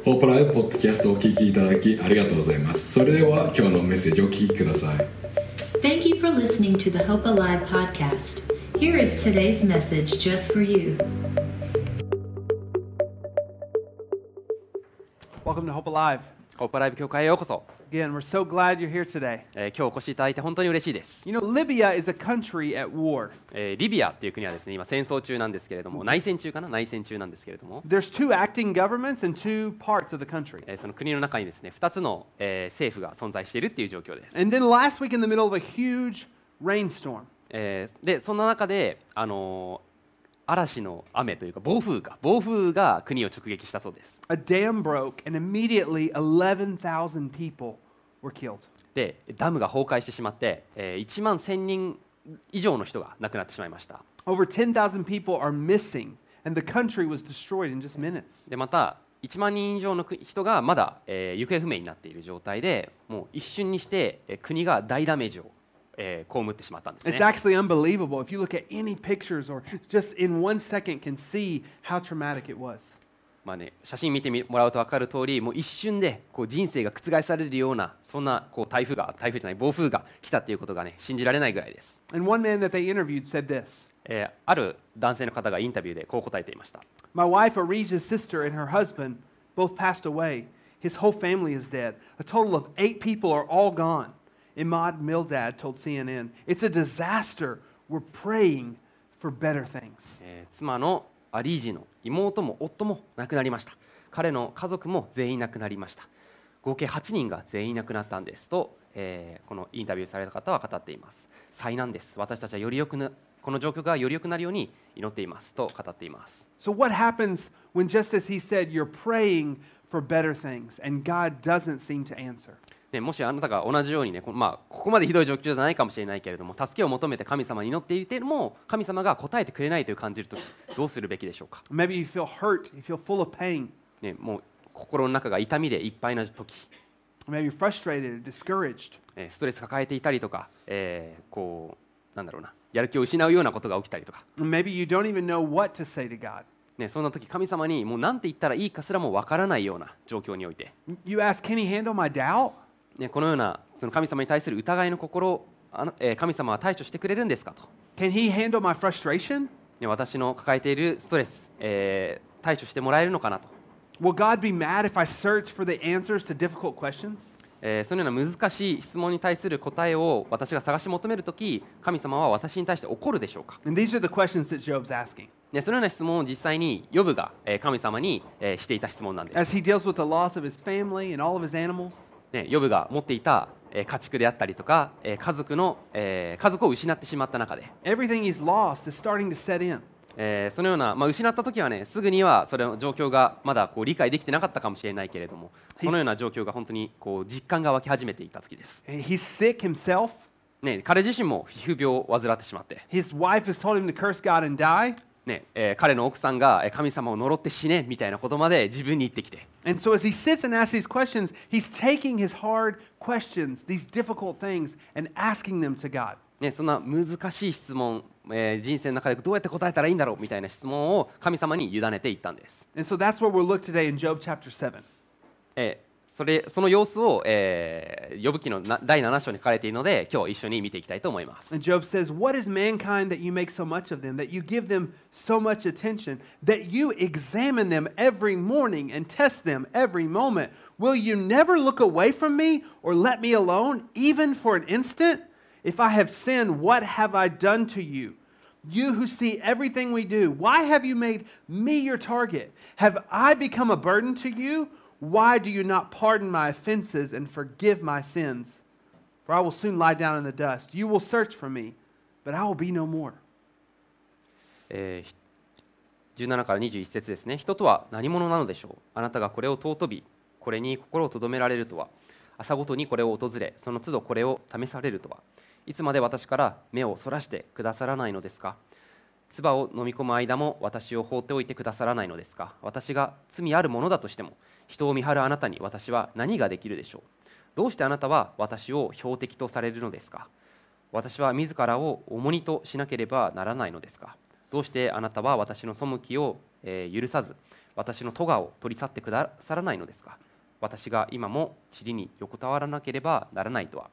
ホープライブポッドキャストをお聞きいただきありがとうございます。それでは今日のメッセージをお聞きください。 Thank you for listening to the Hope Alive podcast. Here is today's message just for you. Welcome to Hope Alive. ホープライブ教会へようこそ。 Again, we're so glad you're here today. 今日お越しいただいて本当に嬉しいです。 You know, Libya is a country at war. リビアっていう国はですね、今戦争中なんですけれども、内戦中なんですけれども、 There's two acting governments and two parts of the country. その国の中にですね、2つの、政府が存在しているっていう状況です。 And then last week in the middle of a huge rainstorm. で、そんな中で、嵐の雨というか暴風が国を直撃したそうです。 A dam broke and immediately 11,000 people were killed. で、ダムが崩壊してしまって、1万1000人以上の人が亡くなってしまいました。 Over 10,000 people are missing and the country was destroyed in just minutes. で、また1万人以上の人がまだ、行方不明になっている状態で、もう一瞬にして、国が大ダメージを被ってしまったんですね。 It's actually unbelievable. If you look at any pictures or just in 1 second can see how traumatic it was. まあね、写真見てもらうと分かる通り、もう一瞬でこう人生が覆されるようなそんなこう暴風じゃない暴風が来たっていうことがね信じられないぐらいです。 And one man that they interviewed said this. ある男性の方がインタビューでこう答えていました。 My wife, Arija's sister, and her husband both passed away. His whole family is dead. A total of 8 people are all gone. Imad Mildad told CNN, "It's a disaster. We're praying for better things." 妻のアリージの妹も夫も亡くなりました。彼の家族も全員亡くなりました。合計8人が全員亡くなったんですと、このインタビューされた方は語っています。災難です。私たちはこの状況がより良くなるように祈っていますと語っています。 So what happens when just as he said, you're praying for better things and God doesn't seem to answer? もしあなたが同じようにね、ここまでひどい状況じゃないかもしれないけれども、助けを求めて神様に祈っていても神様が答えてくれないという感じるとき、どうするべきでしょうか。 Maybe you feel hurt, you feel full of pain. もう心の中が痛みでいっぱいなとき、 Maybe you're frustrated or discouraged. ストレス抱えていたりとか、やる気を失うようなことが起きたりとか、 Maybe you don't even know what to say to God. そんな時神様にもう何て言ったらいいかすらもわからないような状況において、 You ask, can he handle my doubt? このようなその神様に対する疑いの心を神様は対処してくれるんですかと、 Can he handle my frustration? 私の抱えているストレス、対処してもらえるのかなと、 Will God be mad if I search for the answers to difficult questions? そのような難しい質問に対する答えを私が探し求めるとき、神様は私に対して怒るでしょうか。 And these are the questions that Job's asking. そのような質問を実際にヨブが神様にしていた質問なんです。 As he deals with the loss of his family and all of his animals. ヨブが持っていた家畜であったりとか家族を失ってしまった中で、 Everything he's lost is starting to set in. そのような、失った時はね、すぐにはそれの状況がまだ理解できてなかったかもしれないけれども、そのような状況が本当に実感が湧き始めていた時です。 He's sick himself. 彼自身も皮膚病を患ってしまって、 His wife has told him to curse God and die. 彼の奥さんが神様を呪って死ねみたいなことまで自分に言ってきて、 And so as he sits and asks these questions, he's taking his hard questions, these difficult things, and asking them to God. そんな難しい質問、人生の中でどうやって答えたらいいんだろうみたいな質問を神様に委ねていったんです。 And so that's where we'll look today in Job chapter 7. その様子を、ヨブ記の第7章に書かれているので、今日一緒に見ていきたいと思います。 And Job says, "What is mankind that you make so much of them, that you give them so much attention, that you examine them every morning and test them every moment? Will you never look away from me or let me alone, even for an instant? If I have sinned, what have I done to you? You who see everything we do, why have you made me your target? Have I become a burden to you?Why do you not pardon my offenses and forgive my sins? For I will soon lie down in the dust. You will search for me, but I will be no more." 17から21節ですね。人とは何者なのでしょう。あなたがこれを尊び、これに心を留められるとは。朝ごとにこれを訪れ、その都度これを試されるとは。いつまで私から目をそらしてくださらないのですか。唾を飲み込む間も私を放っておいてくださらないのですか。私が罪あるものだとしても、人を見張るあなたに私は何ができるでしょう。どうしてあなたは私を標的とされるのですか。私は自らを重荷としなければならないのですか。 どうしてあなたは私の背きを、許さず、私の咎を取り去ってくださらないのですか。私が今も塵に横たわらなければならないとは。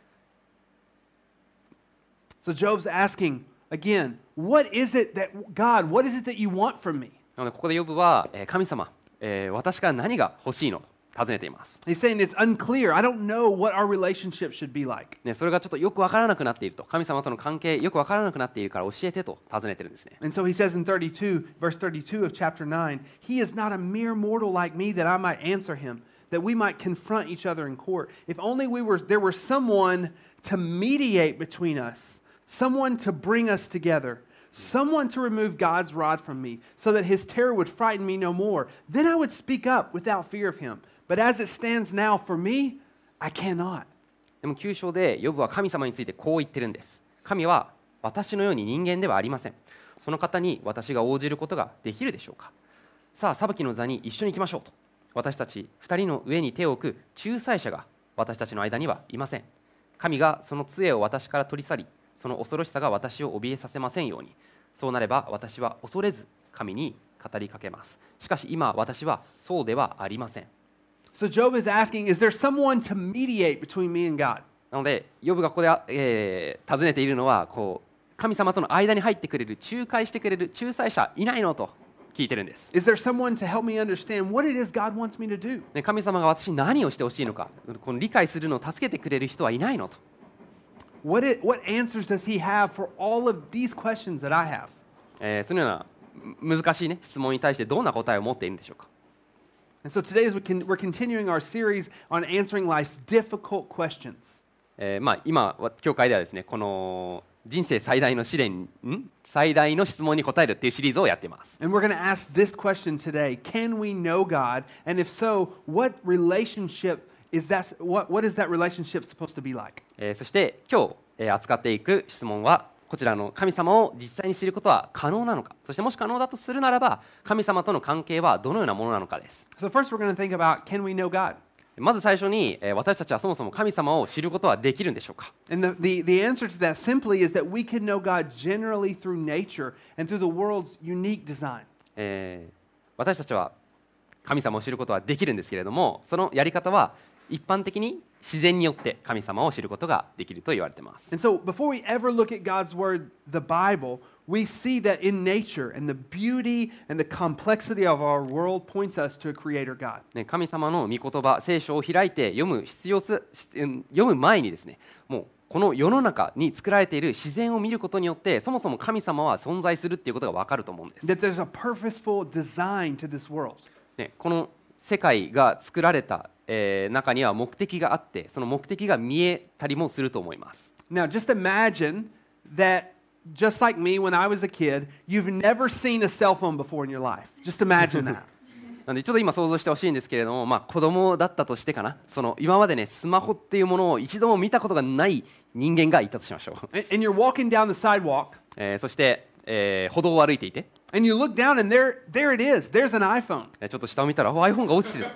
So Job's asking again, what is it that God, what is it that you want from me? なのでここでヨブは、神様、私から何が欲しいのと尋ねています。 He's saying it's unclear. I don't know what our relationship should be like. ね、それがちょっとよくわからなくなっていると、神様との関係よくわからなくなっているから教えてと尋ねてるんですね。 And so he says in verse 32 of chapter 9, he is not a mere mortal like me that I might answer him, that we might confront each other in court. If only there were someone to mediate between us, someone to bring us together, someone to remove God's rod from me, so that his terror would frighten me no more. Then I would speak up without fear of him. But as it stands now, for me, I cannot. でも9章でヨブは神様についてこう言ってるんです。神は私のように人間ではありません。その方に私が応じることができるでしょうか。さあ裁きの座に一緒に行きましょうと。私たち2人の上に手を置く仲裁者が私たちの間にはいません。神がその杖を私から取り去り、その恐ろしさが私を怯えさせませんように。そうなれば私は恐れず神に語りかけます。しかし今私はそうではありません。 So Job is asking, is there someone to mediate between me and God? なのでヨブがここで、尋ねているのは神様との間に入ってくれる、仲介してくれる仲裁者いないのと聞いてるんです。 Is there someone to help me understand what it is God wants me to do? ね、神様が私に何をしてほしいのか、この理解するのを助けてくれる人はいないのと。 What answers does he have for all of these questions that I have? そのような難しい、ね、質問に対してどんな答えを持っているんでしょうか。 And so today we're continuing our series on answering life's difficult questions. 今教会ではですね、この人生最大の試練、最大の質問に答えるっていうシリーズをやっています。 And we're going to ask this question today: Can we know God? And if so, what relationship is that? What is that relationship supposed to be like? そして今日、扱っていく質問はこちらの神様を実際に知ることは可能なのか、そしてもし可能だとするならば神様との関係はどのようなものなのかです。 So first we're going to think about, can we know God? まず最初に私たちはそもそも神様を知ることはできるんでしょうか。 And the answer to that simply is that we can know God generally through nature and through the world's unique design. 私たちは神様を知ることはできるんですけれども、そのやり方は一般的に自然によって神様を知ることができると言われています。 And so before we ever look at God's word, the Bible, we see that in nature and the beauty and the complexity of our world points us to a creator God. ね、神様の御言葉、聖書を開いて読む前にですね、もうこの世の中に作られている自然を見ることによってそもそも神様は存在するっていうことが分かると思うんです。 That there's a purposeful design to this world. ね、この世界が作られた中には目的があって、その目的が見えたりもすると思います。 Now, just imagine that, just like me when I was a kid, you've never seen a cell phone before in your life. Just imagine that. なのでちょっと今想像してほしいんですけれども、子供だったとしてかな、今までねスマホっていうものを一度も見たことがない人間がいたとしましょう。 And you're walking down the sidewalk. そして、歩道を歩いていて、 And you look down and there it is. There's an iPhone. ちょっと下を見たらiPhone が落ちてる。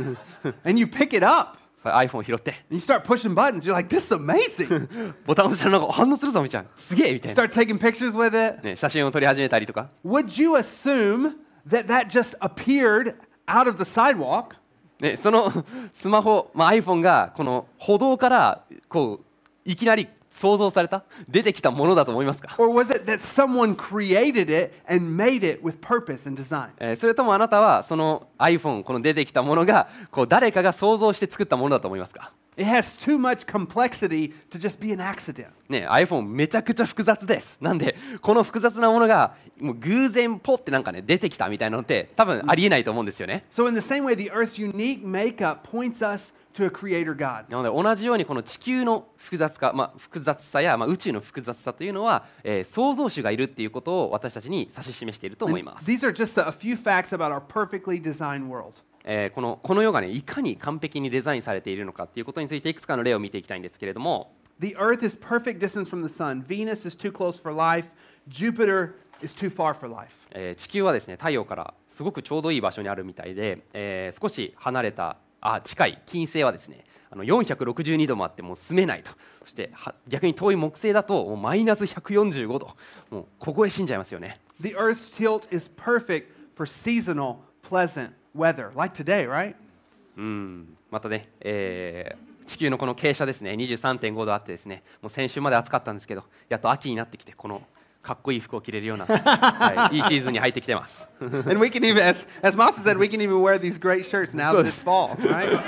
And you pick it up. iPhone を拾って。 And you start pushing buttons. You're like, this is amazing. ボタンを押したらなんか反応するぞみたいな。すげえみたいな。 Start taking pictures with it. ね、写真を撮り始めたりとか。 Would you assume that just appeared out of the sidewalk? ね、そのスマホ、iPhone がこの歩道からいきなり想像された出てきたものだと思いますか？ Or was it that someone created it and made it with purpose and design? それともあなたはその iPhone この出てきたものが誰かが想像して作ったものだと思いますか？ It has too much complexity to just be an accident. ね、iPhone めちゃくちゃ複雑です。なんでこの複雑なものがもう偶然ポってなんかね出てきたみたいなのって多分ありえないと思うんですよね。 So in the same way, the Earth's unique makeup points us to a creator God. なので同じようにこの地球の複雑さや、宇宙の複雑さというのは、創造主がいるっていうことを私たちに指し示していると思います。 These are just a few facts about our perfectly designed world. この世がねいかに完璧にデザインされているのかっていうことについていくつかの例を見ていきたいんですけれども、 The Earth is perfect distance from the sun. Venus is too close for life. Jupiter is too far for life. 地球はですね太陽からすごくちょうどいい場所にあるみたいで、少し離れた近い金星はですね462度もあってもう住めないと。そして逆に遠い木星だともうマイナス145度、もう凍え死んじゃいますよね。 The Earth's tilt is perfect for seasonal, pleasant weather, like today, right? またね、地球のこの傾斜ですね、23.5 度あってですね、もう先週まで暑かったんですけど、やっと秋になってきて、このかっこいい服を着れるような、いいシーズンに入ってきてます。 And we can even, as Masa said, we can even wear these great shirts now that it's fall, right?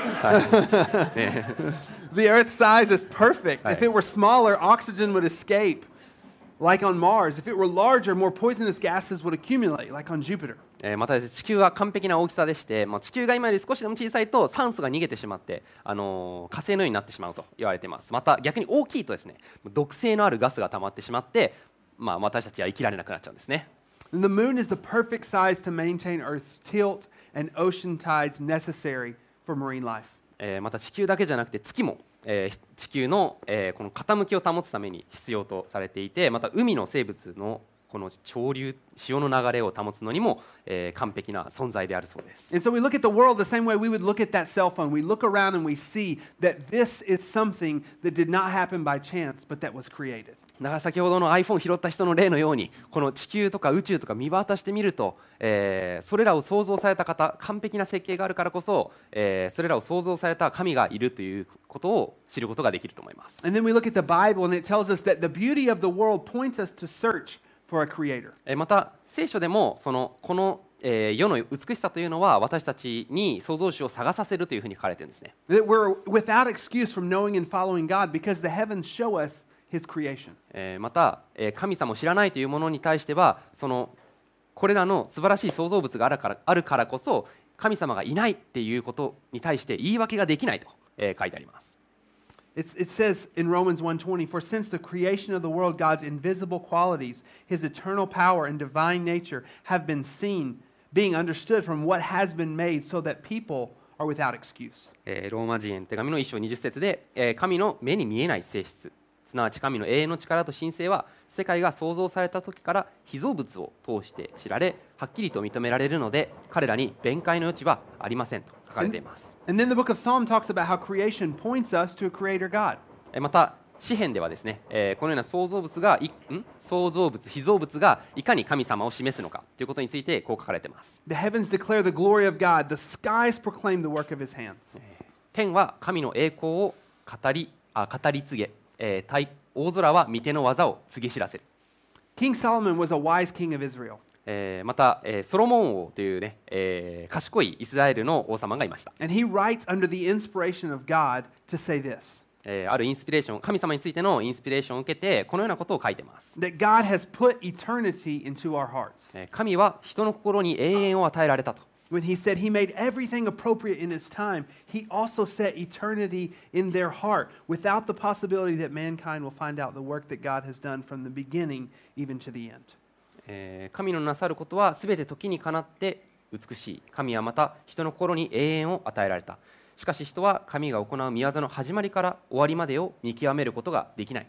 The Earth's size is perfect. If it were smaller, oxygen would escape, like on Mars. If it were larger, more poisonous gases would accumulate, like on Jupiter. またですね、地球は完璧な大きさでして、地球が今より少しでも小さいと酸素が逃げてしまって、火星のようになってしまうと言われています。また逆に大きいとですね、毒性のあるガスが溜まってしまって、私たちは生きられなくなっちゃうんですね。 And the moon is the perfect size to maintain Earth's tilt and ocean tides necessary for marine life. また地球だけじゃなくて月も、地球の、この傾きを保つために必要とされていて、また海の生物のこの潮流、潮の流れを保つのにも、完璧な存在であるそうです。 And so we look at the world the same way we would look at that cell phone. We look around and we see that this is something that did not happen by chance, but that was created. だから先ほどの iPhone 拾った人の例のように、この地球とか宇宙とか見渡してみると、それらを創造された方、完璧な設計があるからこそ、それらを創造された神がいるということを知ることができると思います。 And then we look at the Bible and it tells us that the beauty of the world points us to search for a creator. また聖書でもこの世の美しさというのは私たちに創造主を探させるというふうに書かれているんですね。 That we're without excuse from knowing and following God because the heavens show us His creation. また神様を知らないというものに対してはこれらの素晴らしい創造物があるからこそ神様がいないっていうことに対して言い訳ができないと書いてあります。 It says in Romans 1:20, "For since the creation of the world, God's invisible qualities, His eternal power and divine nature have been seen, being understood from what has been made, so that people are without excuse." ローマ人への手紙の1章20節で、神の目に見えない性質、すなわち神の永遠の力と神性は世界が創造された時から被造物を通して知られ、はっきりと認められるので、彼らに弁解の余地はありませんと書かれています。 And then the book of Psalm talks about how creation points us to a creator God. また詩篇ではですね、このような創造物、被造物がいかに神様を示すのかということについてこう書かれています。 The heavens declare the glory of God, the skies proclaim the work of His hands. 天は神の栄光を語り継げ、大空は御手の技を告げ知らせる。 King Solomon was a wise king of Israel. また、ソロモン王というね、賢いイスラエルの王様がいました。 And he writes under the inspiration of God to say this. あるインスピレーション、神様についてのインスピレーションを受けてこのようなことを書いています。 That God has put eternity into our hearts. 神は人の心に永遠を与えられたと。 When he said he made everything appropriate in its time, he also set eternity in their heart without the possibility that mankind will find out the work that God has done from the beginning even to the end. 神のなさることはすべて時にかなって美しい。神はまた人の心に永遠を与えられた。しかし人は神が行う御業の始まりから終わりまでを見極めることができない。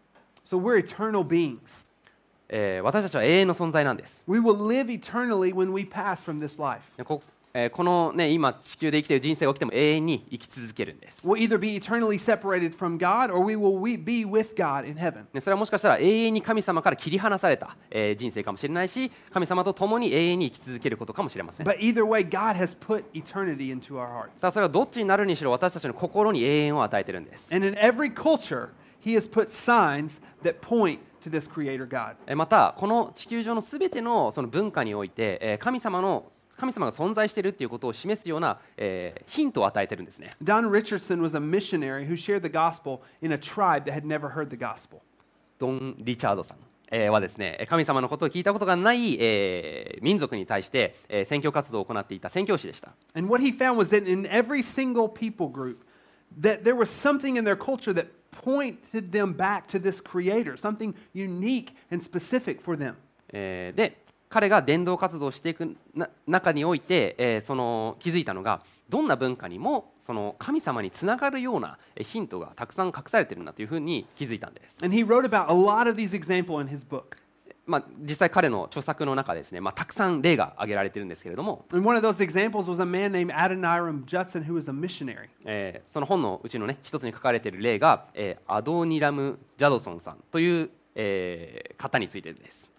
So we're eternal beings. 私たちは永遠の存在なんです。 We will live eternally when we pass from this life. この、ね、今地球で生きている人生が起きても永遠に生き続けるんです。 We'll either be eternally separated from God or we will be with God in heaven. それはもしかしたら永遠に神様から切り離された、人生かもしれないし、神様と共に永遠に生き続けることかもしれません。 But either way, God has put eternity into our hearts. さあそれはどっちになるにしろ私たちの心に永遠を与えているんです。 And in every culture, He has put signs that point to this Creator God. またこの地球上のすべてのその文化において、神様が存在しているということを示すような、ヒントを与えているんですね。 Don Richardson was a missionary who shared the gospel in a tribe that had never heard the gospel. ドン・リチャードさんはですね、神様のことを聞いたことがない、民族に対して、宣教活動を行っていた宣教師でした。 And what he found was that in every single people group, that there was something in their culture that pointed them back to this Creator, something unique and specific for them. で彼が伝道活動をしていく中において、気づいたのがどんな文化にもその神様につながるようなヒントがたくさん隠されているんだというふうに気づいたんです。 And he wrote about a lot of these examples in his book. 実際彼の著作の中でですね、たくさん例が挙げられているんですけれども、 And one of those examples was a man named Adoniram Judson who was a missionary. その本のうちのね一つに書かれている例が、アドニラム・ジャドソンさんという、方についてです。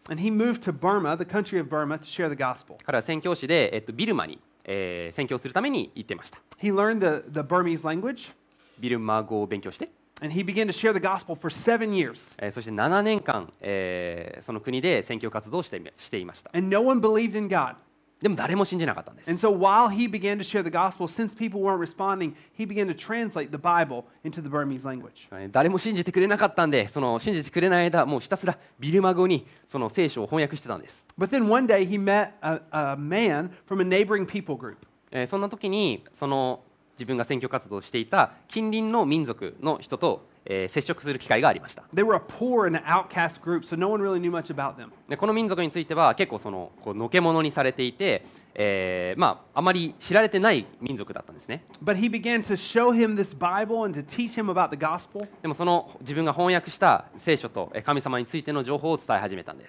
And he moved to Burma, the country of Burma, to share the gospel. 彼は宣教師で、ビルマに、宣教するために行ってました。 He learned the Burmese language, ビルマ語を勉強して、 and he began to share the gospel for 7 years. そして7年間、その国で宣教活動をしていました。 And no one believed in God. でも誰も信じなかったんです。 And so while he began to share the gospel, since people weren't responding, he began to translate the Bible into the Burmese language. 誰も信じてくれなかったんで、その信じてくれない間、もうひたすらビルマ語にその聖書を翻訳してたんです。 But then one day he met a man from a neighboring people group. そんな時にその自分が宣教活動をしていた近隣の民族の人と、接触する機会がありました。 They were a poor and an outcast group, so no one really knew much about them. でこの民族については結構こうのけ者にされていて、あまり知られてない民族だったんですね。 But he began to show him this Bible and to teach him about the gospel. でもその自分が翻訳した聖書と神様についての情報を伝え始めたんです。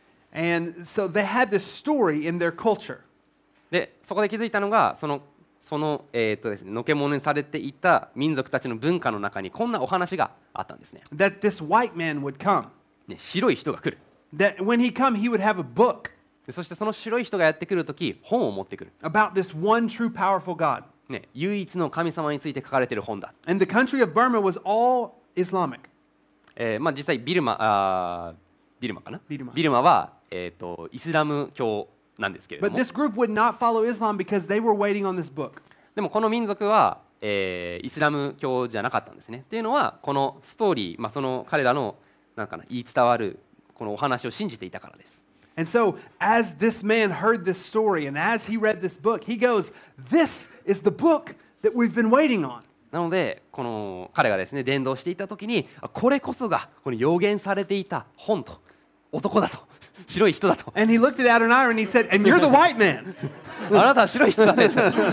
And so they had this story in their culture. でそこで気づいたのがですね、のけ者にされていた民族たちの文化の中にこんなお話があったんですね。 That this white man would come. ね、白い人が来る。 That when he come, he would have a book でそしてその白い人がやってくるとき本を持ってくる。 about this one true powerful God. ね、唯一の神様について書かれている本だ。 And the country of Burma was all Islamic. 実際ビルマかな。 ビルマビルマは、イスラム教なんですけれど But も、 this group would not follow Islam because they were waiting on this book. でもこの民族は、イスラム教じゃなかったんですね。っていうのはこのストーリー、その彼らの言い伝わるこのお話を信じていたからです。 And so, as this man heard this story and as he read this book, he goes, "This is the book that we've been waiting on." なのでこの彼がですね伝道していた時にこれこそがこの予言されていた本と男だと白い人だと And he looked at Adoniram and he said, "And you're the white man." あなたは白い人だね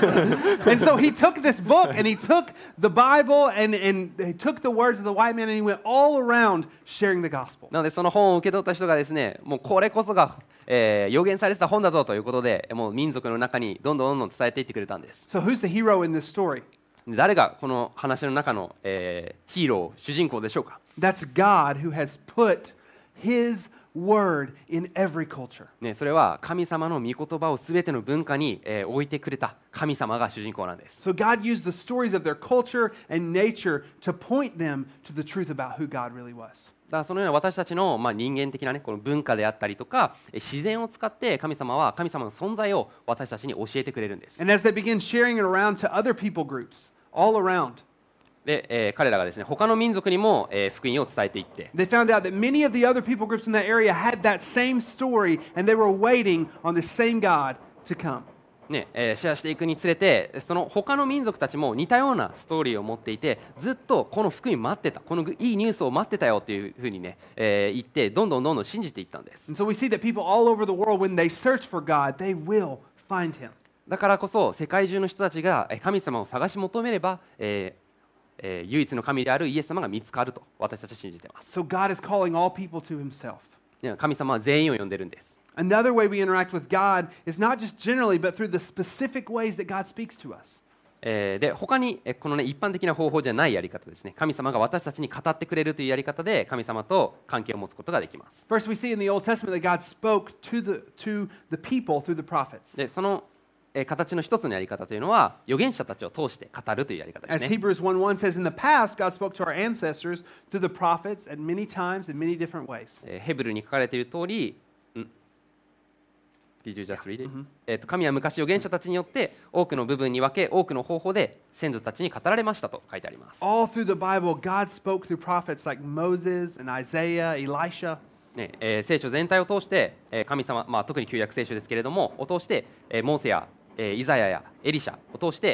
And so he took this book and he took the Bible and he took the words of the white man and he went all around sharing the gospel. なのでその本を受け取った人がですねもうこれこそが、予言されてた本だぞということでもう民族の中にどんどん伝えていってくれたんです。 So who's the hero in this story? 誰がこの話の中の、ヒーロー主人公でしょうか。 That's God who has put his word in every culture. ね、それは神様の御言葉をすべての文化に、置いてくれた神様が主人公なんです。 So God used the stories of their culture and nature to point them to the truth about who God really was. だからそのような私たちの、人間的な、この文化であったりとか自然を使って神様は神様の存在を私たちに教えてくれるんです。 And as they began sharing it around to other people groups all around, で、彼らがですね他の民族にも、福音を伝えていって they found out that many of the other people groups in that area had that same story and they were waiting on the same God to come. ねシェアしていくにつれてその他の民族たちも似たようなストーリーを持っていてずっとこの福音待ってたこのいいニュースを待ってたよっていうふうにね、言ってどんどん信じていったんです。 And so we see that people all over the world, when they search for God, they will find him. だからこそ世界中の人たちが神様を探し求めれば、唯一の神であるイエス様が見つかると私たちは信じています。 So God is calling all people to himself. 神様は全員を呼んでるんです。 Another way we interact with God is not just generally, but through the specific ways that God speaks to us. で他にこの、一般的な方法じゃないやり方ですね。神様が私たちに語ってくれるというやり方で神様と関係を持つことができます。 First, we see in the Old Testament that God spoke to the people through the prophets. でその形の一つのやり方というのは預言者たちを通して語るというやり方で As すね。 Hebrews 1:1 says, in the past, God spoke to our ancestors through the prophets at many times in many different ways. ヘブルに書かれている通り、Did you just read it? 神は昔預言者たちによって多くの部分に分け多くの方法で先祖たちに語られましたと書いてあります。 All through the Bible, God spoke through prophets like Moses and Isaiah, Elisha. ね聖書全体を通して、神様、特に旧約聖書ですけれどもを通して、モーセやイザヤやエリシャを通して、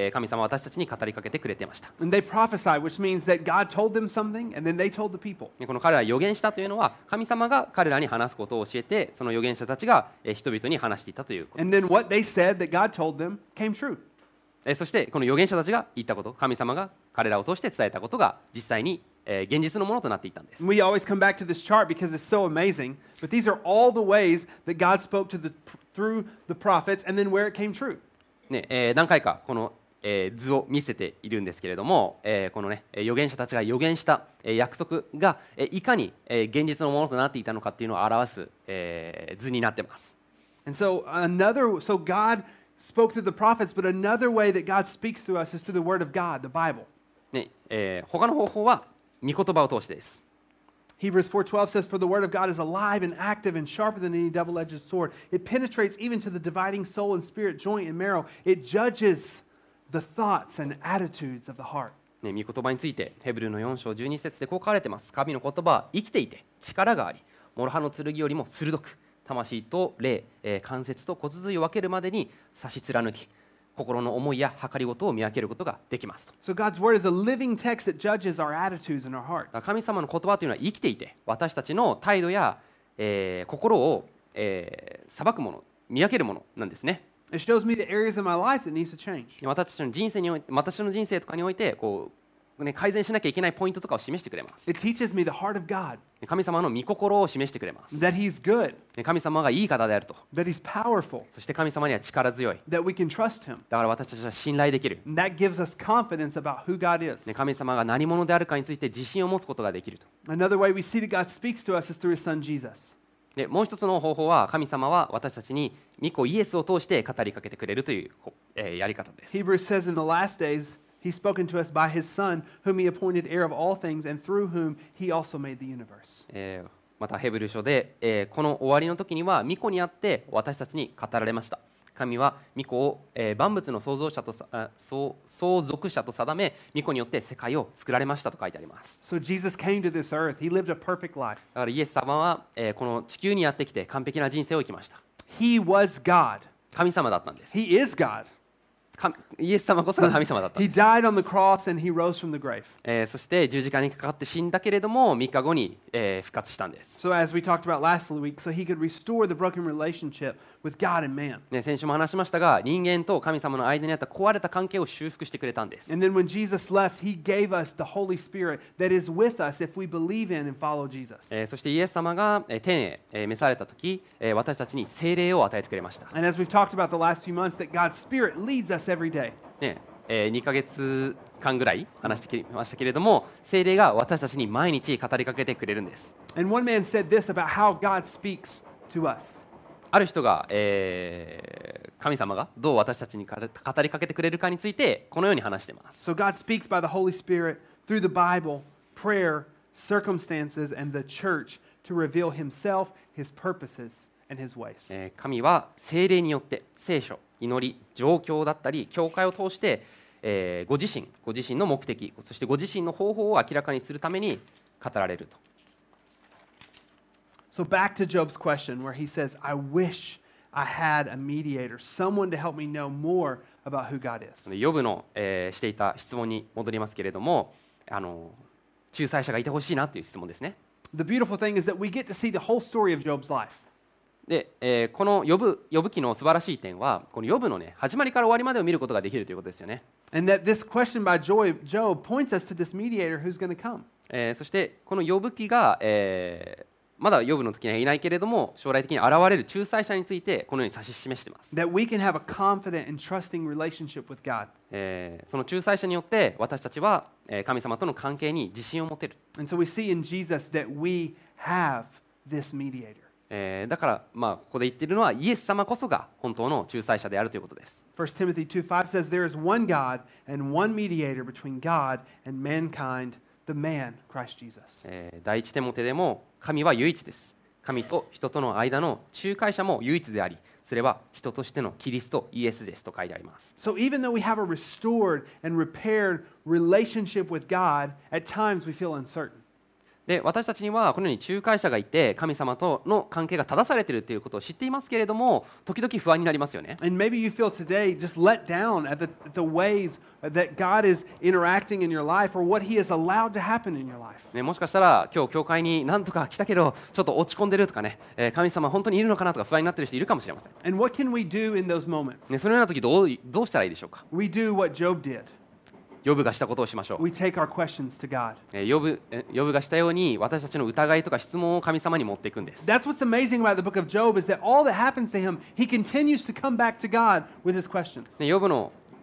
神様は私たちに語りかけてくれていました。 And they prophesied, which means that God told them something and then they told the people. この彼らは預言したというのは神様が彼らに話すことを教えてその預言者たちが人々に話していたということ And で then す。 what they said that God told them came true. そしてこの預言者たちが言ったこと神様が彼らを通して伝えたことが実際に現実のものとなっていったんです。 We always come back to this chart because it's so amazing. But these are all the ways that God spoke through the prophets and then where it came true. 何回かこの図を見せているんですけれども、このね預言者たちが預言した約束がいかに現実のものとなっていたのかっていうのを表す図になっています。 And so God spoke through the prophets, but another way that God speaks to us is through the Word of God, the Bible. ね他の方法は御言葉を通してです。 Hebrews 4:12 says, "For the word of God is alive and active and sharper than any double-edged sword. It penetrates even to the dividing soul and spirit, joint and marrow. It judges the thoughts and attitudes of the heart." ね、御言葉についてヘブルの4章12節でこう書かれています。神の言葉は生きていて力があり、諸刃の剣よりも鋭く、魂と霊、関節と骨髄を分けるまでに差し貫き、心の思いや計りごとを見分けることができます。 So God's word is a living text that judges our attitudes and our hearts. 神様の言葉というのは生きていて、私たちの態度や、心を、裁くもの、見分けるものなんですね。 It shows me the areas of my life that needs to change. 私たちの人生において、私の人生とかにおいてこう、改善しなきゃいけないポイントとかを示してくれます。 It teaches me the heart of God, 神様の御心を示してくれます。 that He's good, 神様がいい方であると。 that He's powerful, そして神様には力強い。 that we can trust Him. だから私たちは信頼できる。 And that gives us confidence about who God is. 神様が何者であるかについて自信を持つことができると。 Another way we see that God speaks to us is through His Son Jesus. でもう一つの方法は、神様は私たちに御子イエスを通して語りかけてくれるという、やり方です。 Hebrews says in the last days, He's spoken to us by His Son, whom He appointed heir of all things, and through whom He also made the universe. またヘブル書で、この終わりの時には御子にあって私たちに語られました。神は御子を、万物の創造者と相続者と定め、御子によって世界を作られましたと書いてあります。 So Jesus came to this earth. He lived a perfect life. だからイエス様は、この地球にやってきて完璧な人生を生きました。 He was God. 神様だったんです。 He is God. イエス様こそが神様だったん He です。 died on the cross and He rose from the grave. そして十字架にかかって死んだけれども3日後に、復活したんです。 So as we talked about last week, so He could restore the broken relationship with God and man. 先週も話しましたが、人間と神様の間にあった壊れた関係を修復してくれたんです。 And then when Jesus left, He gave us the Holy Spirit that is with us if we believe in and follow Jesus. そしてイエス様が天へ召されたとき、私たちに聖霊を与えてくれました。 And as we've talked about the last few months, that God's Spirit leads us every day. 2ヶ月間ぐらい話してきましたけれども、聖霊が私たちに毎日語りかけてくれるんです。 And one man said this about how God speaks to us. ある人が、神様がどう私たちに語りかけてくれるかについてこのように話しています。 So God speaks by the Holy Spirit through the Bible, prayer, circumstances, and the church to reveal Himself, His purposes, and His ways. 神は聖霊によって聖書、祈り、状況だったり教会を通して、ご自身の目的、そしてご自身の方法を明らかにするために語られると。 So back to Job's question where he says, I wish I had a mediator, someone to help me know more about who God is. ヨブの、していた質問に戻りますけれども、仲裁者がいてほしいなという質問ですね。 The beautiful thing is that we get to see the whole story of Job's life. で、このヨブ記の素晴らしい点は、このヨブのね、始まりから終わりまでを見ることができるということですよね。 And that this question by Job points us to this mediator who's going to come. そしてこのヨブ記が、まだヨブの時にはいないけれども、将来的に現れる仲裁者についてこのように指し示しています。 That we can have a confident and trusting relationship with God. その仲裁者によって私たちは神様との関係に自信を持てる。 And so we see in Jesus that we have this mediator. だから、ここで言っているのはイエス様こそが本当の仲裁者であるということです。 1 Timothy 2:5 says, There is one God and one mediator between God and mankind, the man, Christ Jesus. 第一テモテでも神は唯一です。神と人との間の仲介者も唯一であり、それは人としてのキリストイエスですと書いてあります。 So even though we have a restored and repaired relationship with God, at times we feel uncertain. で私たちにはこのように仲介者がいて神様との関係が正されているということを知っていますけれども、時々不安になりますよね。 And maybe you feel today just let down at the ways that God is interacting in your life or what He has allowed to happen in your life. ね、もしかしたら今日教会に何とか来たけどちょっと落ち込んでるとかね、神様本当にいるのかなとか不安になっている人いるかもしれません。 And what can we do in those moments? ね、そのような時どうしたらいいでしょうか。 We do what Job did. ヨブがしたことをしましょう。 We take our questions to God. ヨブがしたように私たちの疑いとか質問を神様に持っていくんです。 That's what's amazing about the book of Job is that all that happens to him, he continues to come back to God with his questions. ヨブの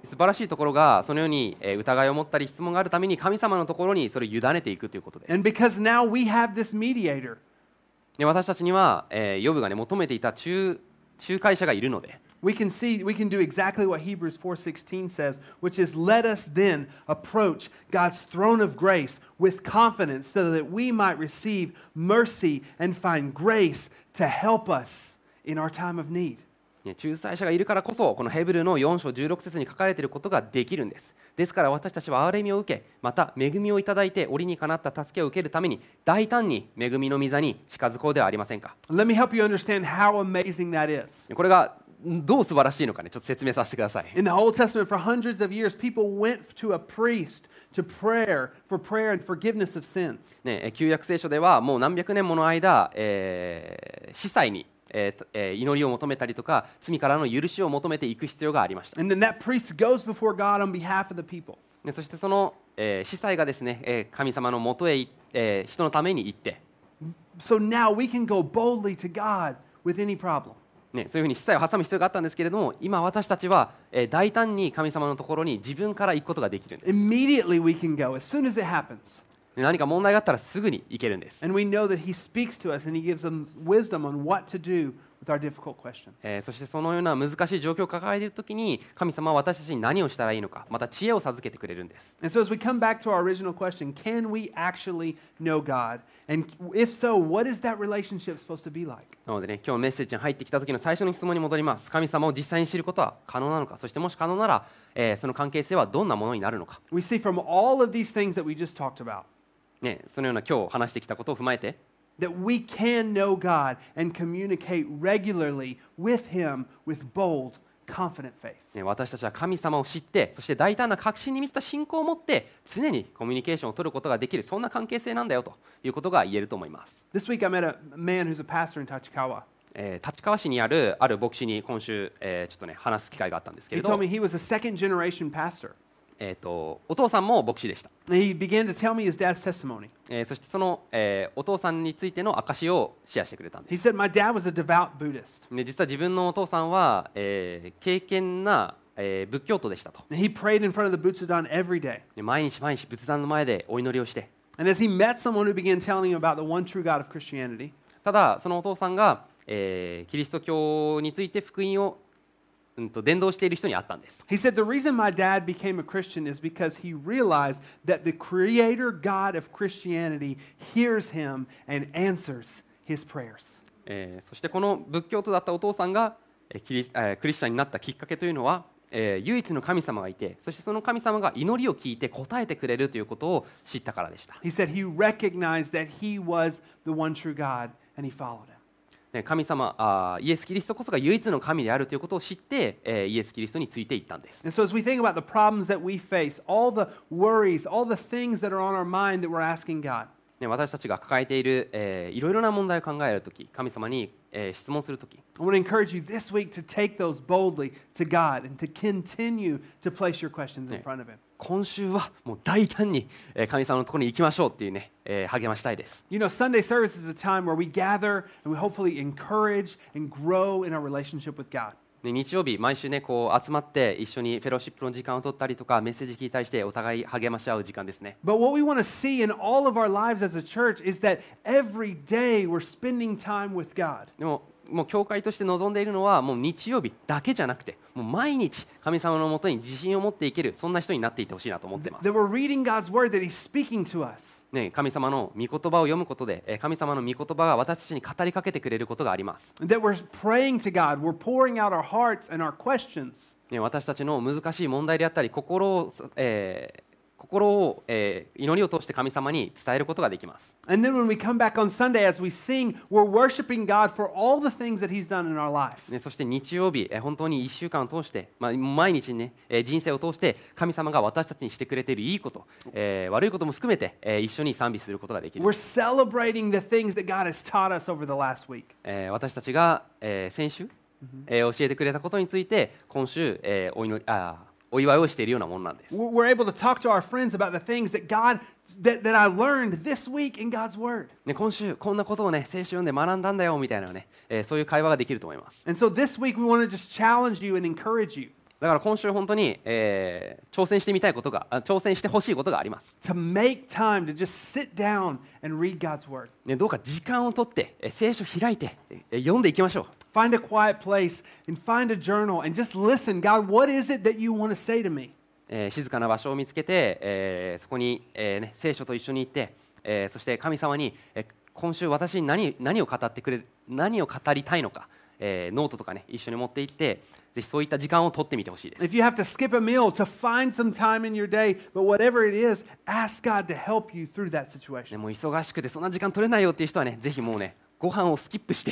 素晴らしいところがそのように疑いを持ったり質問があるために神様のところにそれを委ねていくということです。 And because now we have this mediator, で私たちには、ヨブが、ね、求めていた仲介者がいるので、 we can do exactly what Hebrews 4:16 says, which is, let us then approach God's throne of grace with confidence so that we might receive mercy and find grace to help us in our time of need. ね、仲裁者がいるからこそこのヘブルの4章16節に書かれていることができるんです。ですから私たちは憐れみを受け、また恵みをいただいて折にかなった助けを受けるために大胆に恵みの御座に近づこうではありませんか。 Let me help you understand how amazing that is. これがどう素晴らしいのかね、ちょっと説明させてください。 In the Old Testament, for hundreds of years, people went to a priest to prayer and forgiveness of sins. ね、旧約聖書ではもう何百年もの間、司祭に祈りを求めたりとか罪からの許しを求めていく必要がありました。 And then that priest goes before God on behalf of the people. でそしてその、司祭がですね、神様のもとへ、人のために行って、 So now we can go boldly to God with any problem. ね、そういうふうに司祭を挟む必要があったんですけれども、今私たちは、大胆に神様のところに自分から行くことができるんです。 Immediately we can go as soon as it happens. で何か問題があったらすぐに行けるんです。 And we know that He speaks to us and He gives them wisdom on what to do with our difficult questions. そしてそのような難しい状況を抱えているときに神様は私たちに何をしたらいいのか、また知恵を授けてくれるんです。 And so as we come back to our original question, can we actually know God? And if so, what is that relationship supposed to be like? なのでね、今日メッセージに入ってきた時の最初の質問に戻ります。神様を実際に知ることは可能なのか、そしてもし可能なら、その関係性はどんなものになるのか。 We see from all of these things that we just talked about ね、そのような今日話してきたことを踏まえて、 that we can know God and communicate regularly with Him with bold, confident faith. ね、私たちは神様を知って、そして大胆な確信に満ちた信仰を持って常にコミュニケーションを取ることができる、そんな関係性なんだよということが言えると思います。 This week I met a man who's a pastor in Tachikawa. 立川市にある牧師に今週、ちょっとね話す機会があったんですけ He れど、 told me he was a second generation pastor. お父さんも牧師でした。 And he began to tell me his dad's testimony. そしてその、お父さんについての証をシェアしてくれたんで He す。 said, My dad was a devout Buddhist. で実は自分のお父さんは、敬虔な、仏教徒でしたと。 And he prayed in front of the Butsudan every day. で毎日仏壇の前でお祈りをして、 And as he met someone who began telling him about the one true God of Christianity, ただそのお父さんが、キリスト教について福音を伝道している人に会ったんです。 he said, The reason my dad became a Christian is because he realized that the creator God of Christianity hears him and answers his prayers. そしてこの仏教徒だったお父さんがクリスチャンになったきっかけというのは、唯一の神様がいて、そしてその神様が祈りを聞いて答えてくれるということを知ったからでした。 He said he recognized that he was the one true God and he followed him. 神様イエス・キリストこそが唯一の神であるということを知って、イエス・キリストについていったんです。 And so as we think about the problems that we face, all the worries, all the things that are on our mind that we're asking God, 私たちが抱えている、いろいろな問題を考えるとき、神様に、質問するとき、 I want to encourage you this week to take those boldly to God and to continue to place your questions in front of Him. 今週はもう大胆に神様のところに行きましょうっていうね、励ましたいです。 You know, Sunday service is a time where we gather and we hopefully encourage and grow in our relationship with God. で日曜日、毎週ね、こう集まって一緒にフェローシップの時間を取ったりとか、メッセージ聞いたりしてお互い励まし合う時間ですね。 But what we want to see in all of our lives as a church is that every day we're spending time with God. でももう教会として望んでいるのはもう日曜日だけじゃなくて、もう毎日神様のもとに自信を持っていける、そんな人になっていってほしいなと思っています。 That we're reading God's word, that He's speaking to us. ね、神様の御言葉を読むことで、神様の御言葉が私たちに語りかけてくれることがあります。 That we're praying to God, we're pouring out our hearts and our questions. ね、私たちの難しい問題であったり、心を、祈りを通して神様に伝えることができます。 And then when we come back on Sunday as we sing, we're worshiping God for all the things that He's done in our life. ね、そして日曜日、本当に1週間を通して、毎日ね、人生を通して神様が私たちにしてくれているいいこと、悪いことも含めて、一緒に賛美することができる。 We're celebrating the things that God has taught us over the last week. 私たちが、先週、教えてくれたことについて今週、お祝いをしているようなものなんです。 We're able to talk to our friends about the things that that I learned this week in God's Word. ね、今週こんなことをね、聖書読んで学んだんだよみたいなね、そういう会話ができると思います。 And so this week we want to just challenge you and encourage you. だから今週本当に、挑戦してみたいことが挑戦してほしいことがあります、 to make time to just sit down and read God's Word. ね、どうか時間をとって、聖書を開いて、読んでいきましょう。 Find a quiet place and find a journal and just listen. God, what is it that you want to say to me? 静かな場所を見つけて、そこに、聖書と一緒に行って、そして神様に、今週私に何を語ってくれる、何を語りたいのか、ノートとかね一緒に持って行って、ぜひそういった時間を取ってみてほしいです。 If you have to skip a meal, to find some time in your day, but whatever it is, ask God to help you through that situation. もう忙しくてそんな時間取れないよっていう人はね、ぜひもうねご飯をスキップして、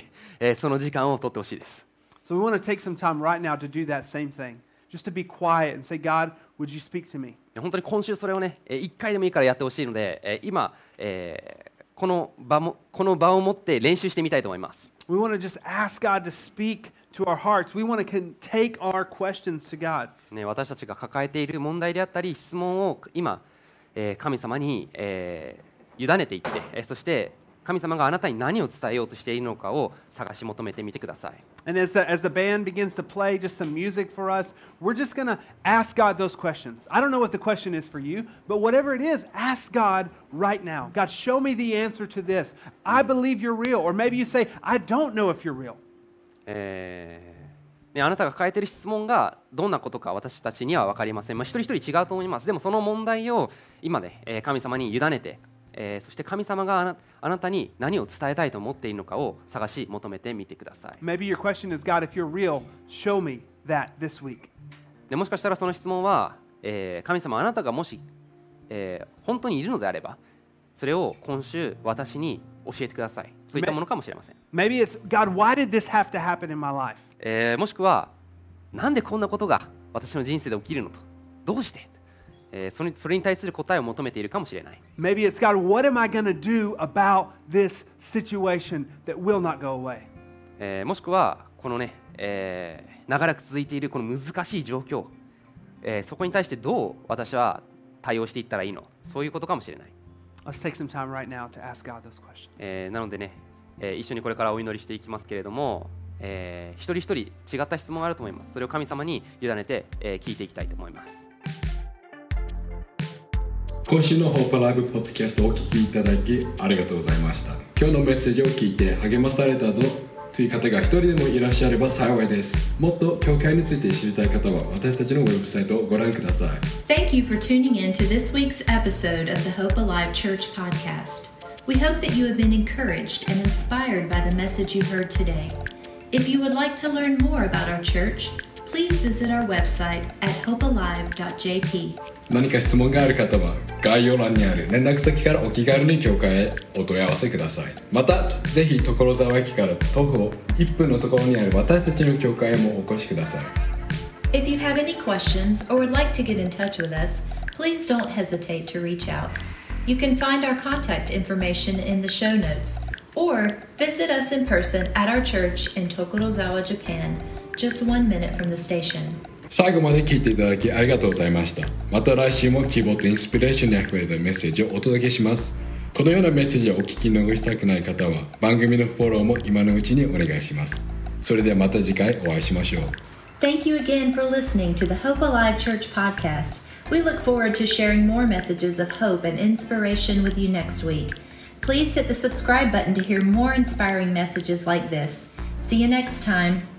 その時間を取ってほしいです。 So we want to take some time right now to do that same thing, just to be quiet and say, God, would you speak to me? 本当に今週それをね、1回でもいいからやってほしいので、今、この場を持って練習してみたいと思います。 We want to just ask God to speak to our hearts. We want to take our questions to God. ね、私たちが抱えている問題であったり質問を今、神様に、委ねていって、そして神様があなたに何を伝えようとしているのかを探し求めてみてください。 And as the band begins to play just some music for us, we're just going to ask God those questions. I don't know what the question is for you, but whatever it is, ask God right now. God, show me the answer to this. I believe you're real. Or maybe you say, I don't know if you're real. ね、あなたが抱えている質問がどんなことか私たちには分かりません。一人一人違うと思います。でもその問題を今ね、神様に委ねて、そして神様があなたに何を伝えたいと思っているのかを探し求めてみてください。 Maybe your question is, God, if you're real, show me that this week. でもしかしたらその質問は、神様あなたがもし、本当にいるのであればそれを今週私に教えてください。そういったものかもしれません。 Maybe it's, God, why did this have to happen in my life? もしくはなんでこんなことが私の人生で起きるのと、どうして、それに対する答えを求めているかもしれない。 Maybe it's, God, what am I going to do about this situation that will not go away? もしくはこのね、長らく続いているこの難しい状況、そこに対してどう私は対応していったらいいの、そういうことかもしれない。 Let's take some time right now to ask God those questions. なのでね、一緒にこれからお祈りしていきますけれども、一人一人違った質問があると思います。それを神様に委ねて、聞いていきたいと思います。 今週のホープライブポッドキャストをお聞きいただきありがとうございました。今日のメッセージを聞いて励まされたという方が一人でもいらっしゃれば幸いです。もっと教会について知りたい方は私たちのウェブサイトをご覧ください。 Thank you for tuning in to this week's episode of the Hope Alive Church podcast. We hope that you have been encouraged and inspired by the message you heard today. If you would like to learn more about our church, please visit our website at hopealive.jp. 何か質問がある方は概要欄にある連絡先からお気軽に教会へお問い合わせください。またぜひ所沢駅から徒歩1分のところにある私たちの教会へもお越しください。 If you have any questions or would like to get in touch with us, please don't hesitate to reach out. You can find our contact information in the show notes or visit us in person at our church in Tokorozawa, Japan, just 1 minute from the station. 最後まで聞いていただきありがとうございました。また来週も希望とインスピレーションにあふれたメッセージをお届けします。このようなメッセージをお聞き逃したくない方は番組のフォローも今のうちにお願いします。それではまた次回お会いしましょう。 Thank you again for listening to the Hope Alive Church podcast. We look forward to sharing more messages of hope and inspiration with you next week. Please hit the subscribe button to hear more inspiring messages like this. See you next time.